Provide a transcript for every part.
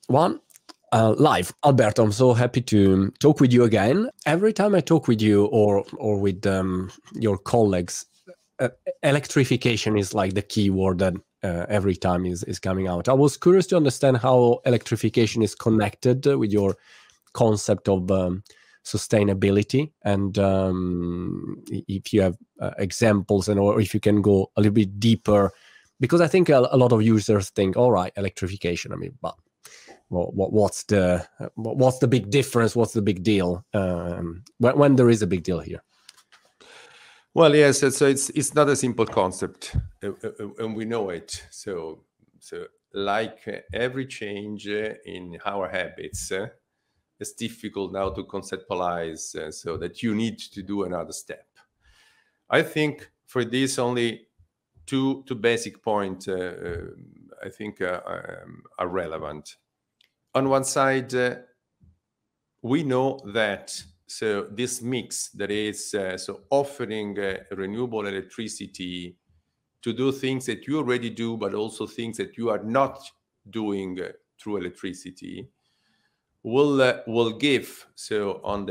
One, live. Alberto, I'm so happy to talk with you again. Every time I talk with you or with your colleagues, electrification is like the key word that every time is coming out. I was curious to understand how electrification is connected with your concept of sustainability, and if you have examples, and or if you can go a little bit deeper, because I think a lot of users think, all right, electrification. I mean, but what's the big difference? What's the big deal when there is a big deal here? Well, yes, so it's not a simple concept, and we know it. So like every change in our habits, it's difficult now to conceptualize, so that you need to do another step. I think for this, only two basic points I think are relevant. On one side, we know that so this mix that is so offering renewable electricity to do things that you already do, but also things that you are not doing through electricity, will give so on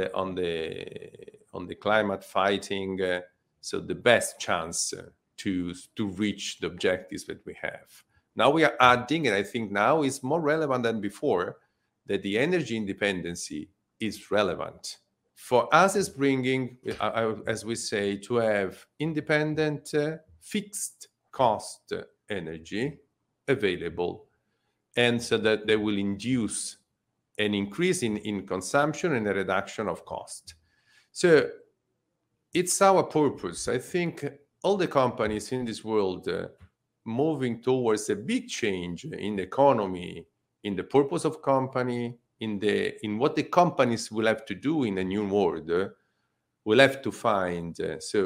the climate fighting so the best chance to reach the objectives that we have. Now we are adding, and I think now is more relevant than before, that the energy independency is relevant. For us, is bringing, as we say, to have independent, fixed cost energy available, and so that they will induce an increase in consumption and a reduction of cost. So it's our purpose. I think all the companies in this world moving towards a big change in the economy, in the purpose of company, in what the companies will have to do in a new world, will have to find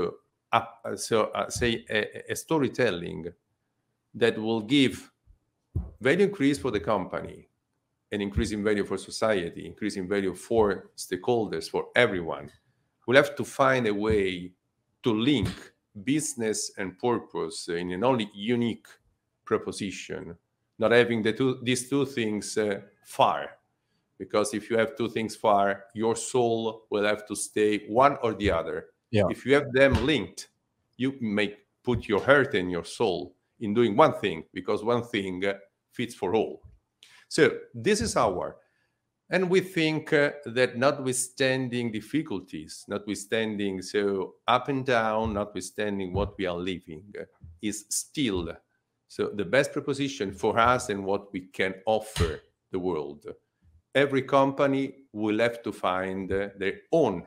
say a storytelling that will give value increase for the company, an increase in value for society, increase in value for stakeholders, for everyone. We'll have to find a way to link business and purpose in an only unique proposition, not having these two things far. Because if you have two things far, your soul will have to stay one or the other. Yeah. If you have them linked, you may put your heart and your soul in doing one thing, because one thing fits for all. So this is and we think that notwithstanding difficulties, notwithstanding so up and down, notwithstanding what we are living, is still so the best proposition for us and what we can offer the world. Every company will have to find their own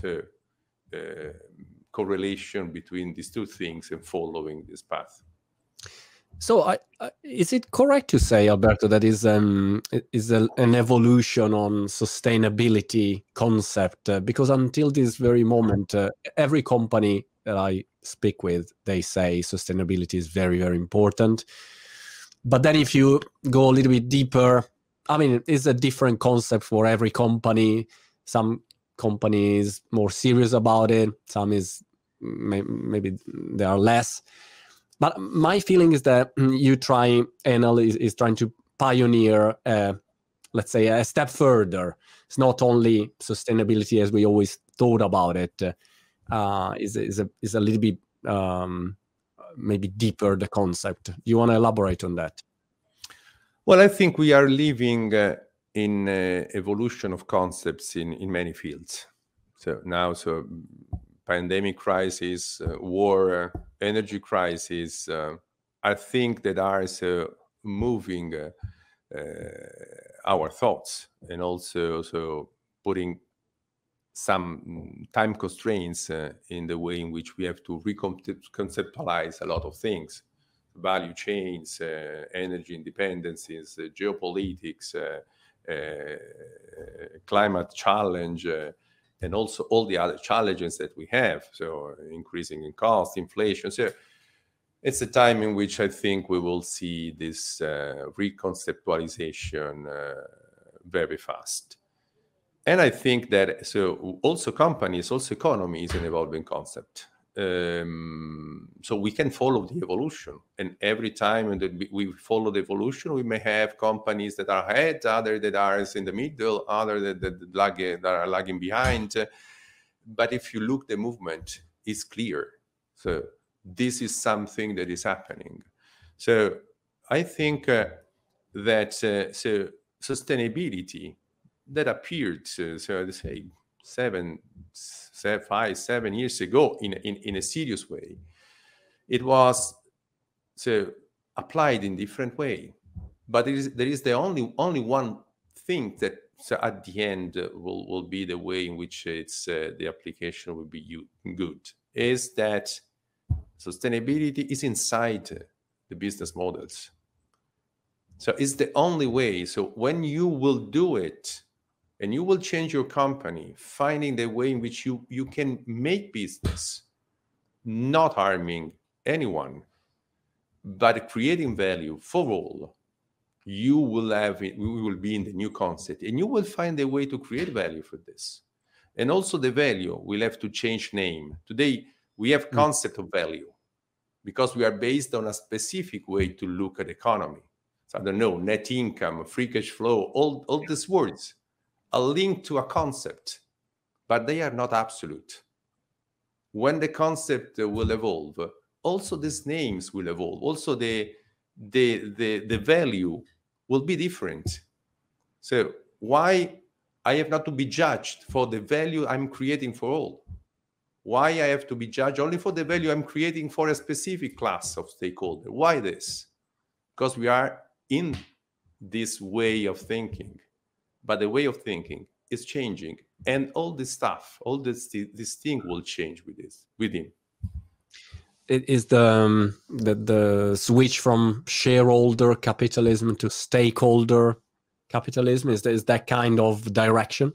correlation between these two things and following this path. So, is it correct to say, Alberto, that is an evolution on sustainability concept? Because until this very moment, every company that I speak with, they say sustainability is very, very important. But then if you go a little bit deeper, I mean, it's a different concept for every company. Some companies more serious about it. Some is maybe they are less. But my feeling is that Enel is trying to pioneer, let's say, a step further. It's not only sustainability as we always thought about it. Is a little bit maybe deeper, the concept. Do you want to elaborate on that? Well, I think we are living in evolution of concepts in many fields. So now, pandemic crisis, war, energy crisis, I think that are moving our thoughts, and also putting some time constraints in the way in which we have to reconceptualize a lot of things. Value chains, energy independencies, geopolitics, climate challenge, and also all the other challenges that we have. So increasing in cost, inflation. So it's a time in which I think we will see this reconceptualization very fast. And I think that also companies, also economy is an evolving concept. so we can follow the evolution, and every time that we follow the evolution, we may have companies that are ahead, other that are in the middle, other that are lagging behind. But if you look, the movement is clear. So this is something that is happening. So I think that so sustainability that appeared, so to say, 5-7 years ago in a serious way, it was so applied in different way. But there is the only one thing that at the end will be the way in which it's the application will be good, is that sustainability is inside the business models. So it's the only way. So when you will do it and you will change your company, finding the way in which you can make business, not harming anyone, but creating value for all, you will have it, we will be in the new concept, and you will find a way to create value for this. And also the value will have to change name. Today, we have concept of value because we are based on a specific way to look at economy. So I don't know, net income, free cash flow, all these words are linked to a concept, but they are not absolute. When the concept will evolve, also these names will evolve. Also the value will be different. So why I have not to be judged for the value I'm creating for all? Why I have to be judged only for the value I'm creating for a specific class of stakeholder? Why this? Because we are in this way of thinking, but the way of thinking is changing, and all this stuff, all this thing will change with him. It is the switch from shareholder capitalism to stakeholder capitalism. Is that kind of direction?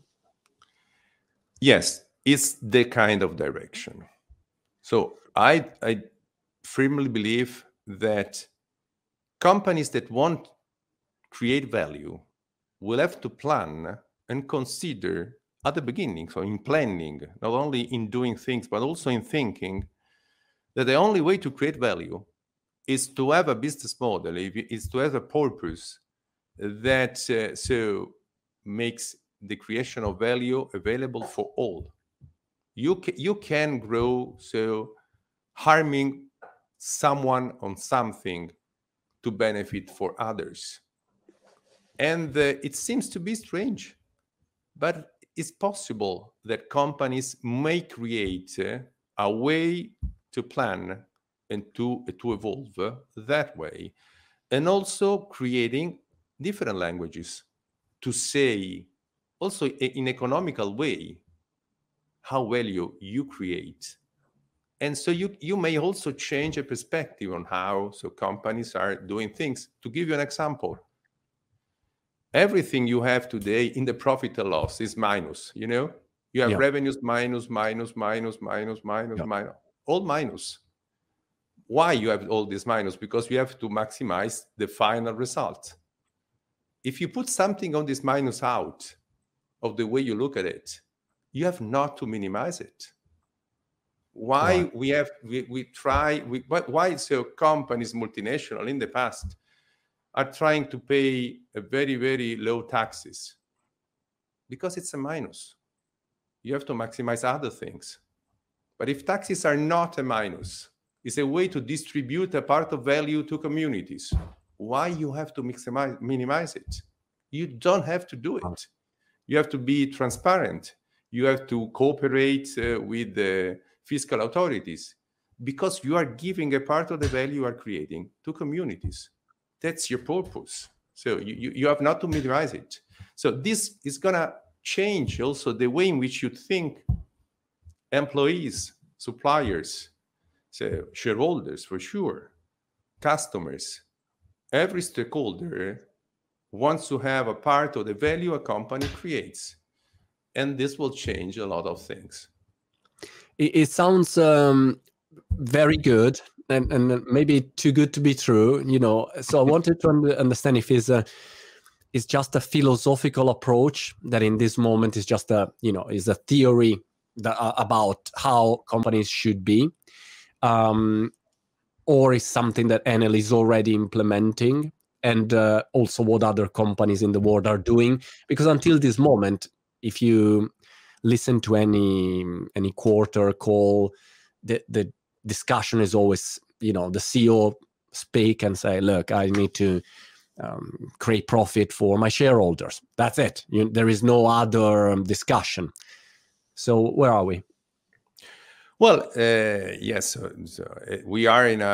Yes, it's the kind of direction. So I firmly believe that companies that want to create value will have to plan and consider at the beginning, so in planning, not only in doing things, but also in thinking, that the only way to create value is to have a business model, is to have a purpose that so makes the creation of value available for all. You can grow so harming someone on something to benefit for others. And it seems to be strange, but it's possible that companies may create a way to plan and to evolve that way, and also creating different languages to say also in economical way how value you create. And so you may also change a perspective on how so companies are doing things. To give you an example, everything you have today in the profit and loss is minus. You have revenues minus, all minus. Why you have all this minus? Because you have to maximize the final result. If you put something on this minus out of the way you look at it, you have not to minimize it. Why why so companies, multinational in the past, are trying to pay a very, very low taxes? Because it's a minus. You have to maximize other things. But if taxes are not a minus, it's a way to distribute a part of value to communities. Why you have to minimize it? You don't have to do it. You have to be transparent. You have to cooperate with the fiscal authorities, because you are giving a part of the value you are creating to communities. That's your purpose. So you have not to minimize it. So this is going to change also the way in which you think employees, suppliers, so shareholders for sure, customers, every stakeholder wants to have a part of the value a company creates. And this will change a lot of things. It sounds very good, and maybe too good to be true, So I wanted to understand if it's just a philosophical approach that in this moment is just is a theory about how companies should be, or is something that Enel is already implementing, and also what other companies in the world are doing? Because until this moment, if you listen to any quarter call, the discussion is always, the CEO speak and say, look, I need to create profit for my shareholders. That's it. There is no other discussion. So where are we? Well, yes. So we are in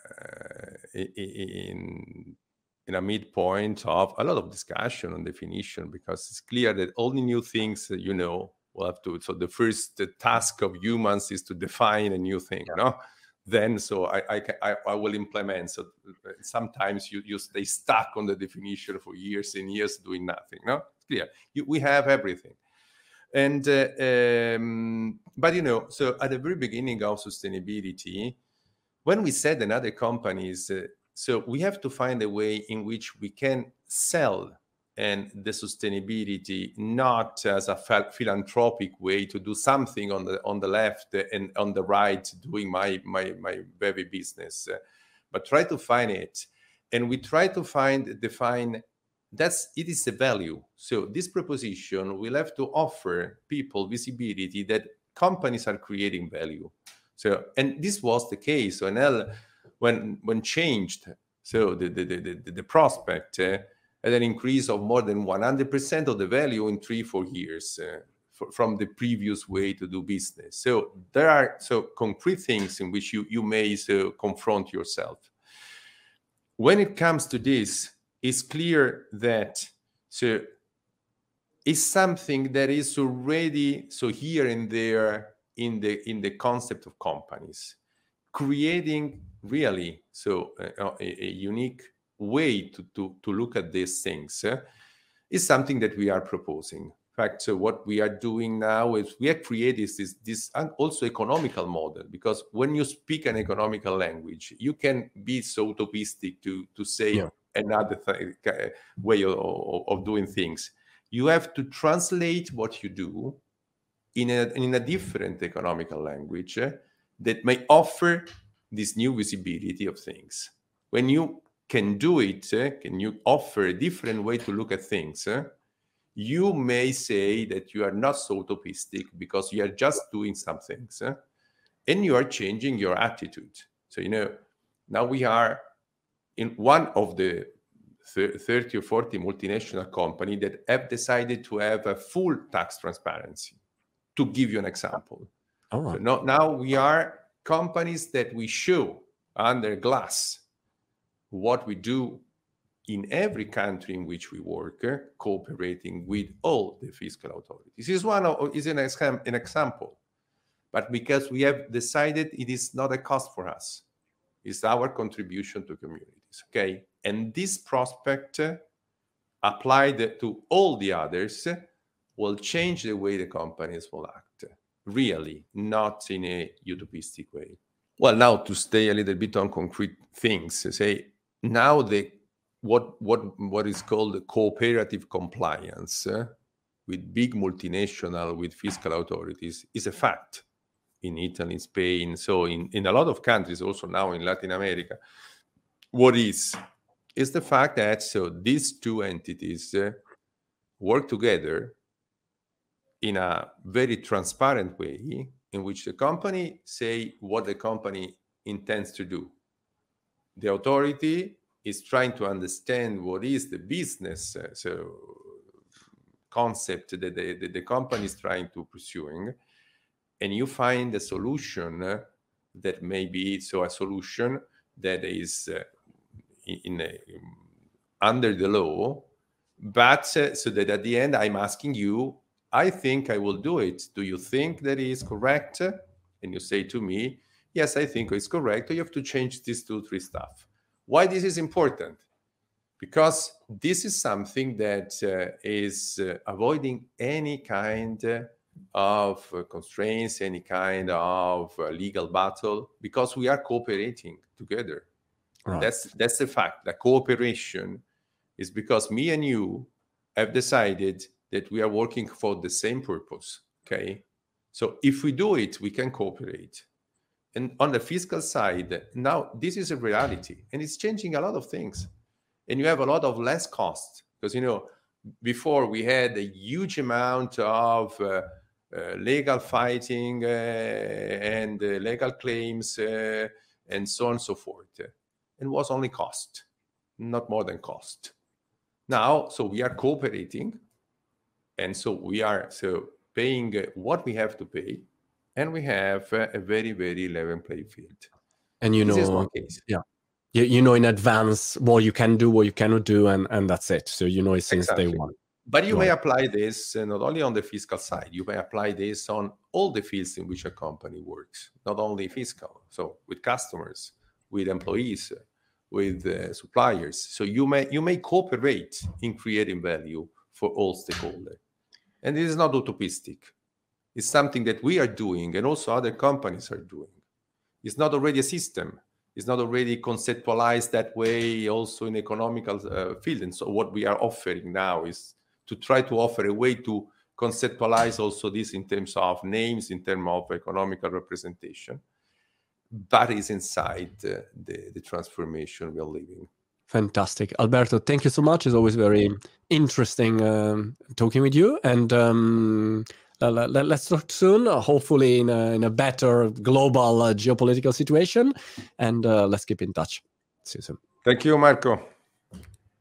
a midpoint of a lot of discussion on definition, because it's clear that all the new things we'll have to. So the task of humans is to define a new thing, no? Then I will implement. So sometimes you stay stuck on the definition for years and years doing nothing. No, it's clear. We have everything. And but so at the very beginning of sustainability, when we said in other companies, so we have to find a way in which we can sell and the sustainability not as a philanthropic way to do something on the left and on the right doing my very business, but try to find it, and we try to define. It is a value. So this proposition will have to offer people visibility that companies are creating value. So, and this was the case. So Enel, when changed, so the prospect had an increase of more than 100% of the value in 3-4 years from the previous way to do business. So there are concrete things in which you may confront yourself. When it comes to this, it's clear that it's something that is already here and there in the concept of companies, creating really a unique way to look at these things is something that we are proposing. In fact, what we are doing now is we have created this also economical model, because when you speak an economical language, you can be so utopistic to say another way of doing things. You have to translate what you do in a different economical language that may offer this new visibility of things. When you can do it, can you offer a different way to look at things, you may say that you are not so utopistic because you are just doing some things, and you are changing your attitude. So, now we are in one of the 30 or 40 multinational companies that have decided to have a full tax transparency. To give you an example. All right. So now we are companies that we show under glass what we do in every country in which we work, cooperating with all the fiscal authorities. This is an example, but because we have decided it is not a cost for us, it's our contribution to communities. Okay, and this prospect applied to all the others will change the way the companies will act. Really, not in a utopistic way. Well, now to stay a little bit on concrete things, say now what is called the cooperative compliance with big multinational, with fiscal authorities, is a fact in Italy, Spain, so in a lot of countries, also now in Latin America. What is the fact that these two entities work together in a very transparent way, in which the company say what the company intends to do. The authority is trying to understand what is the business concept that the company is trying to pursuing, and you find a solution that may be a solution that is under the law, but so that at the end I'm asking you, I think I will do it. Do you think that is correct? And you say to me, yes, I think it's correct. You have to change these 2-3 stuff. Why this is important? Because this is something that is avoiding any kind of constraints, any kind of legal battle, because we are cooperating together. Right. That's the fact. The cooperation is because me and you have decided that we are working for the same purpose. Okay, So if we do it, we can cooperate. And on the fiscal side, now this is a reality, and it's changing a lot of things. And you have a lot of less cost, because, you know, before we had a huge amount of legal fighting and legal claims and so on and so forth. It was only cost, not more than cost. Now, so we are cooperating, and so we are paying what we have to pay, and we have a very, very level playing field. And this is one case. Yeah, you know in advance what you can do, what you cannot do, and that's it. So you know it since day one. But you may apply this not only on the fiscal side, you may apply this on all the fields in which a company works, not only fiscal. So with customers, with employees, with suppliers. So you may cooperate in creating value for all stakeholders. And this is not utopistic. It's something that we are doing, and also other companies are doing. It's not already a system. It's not already conceptualized that way also in economical field. And so what we are offering now is to try to offer a way to conceptualize also this in terms of names, in terms of economical representation, but it's inside the transformation we are living. Fantastic. Alberto, thank you so much. It's always very interesting talking with you. And let's talk soon, hopefully in a better global geopolitical situation. And let's keep in touch. See you soon. Thank you, Marco.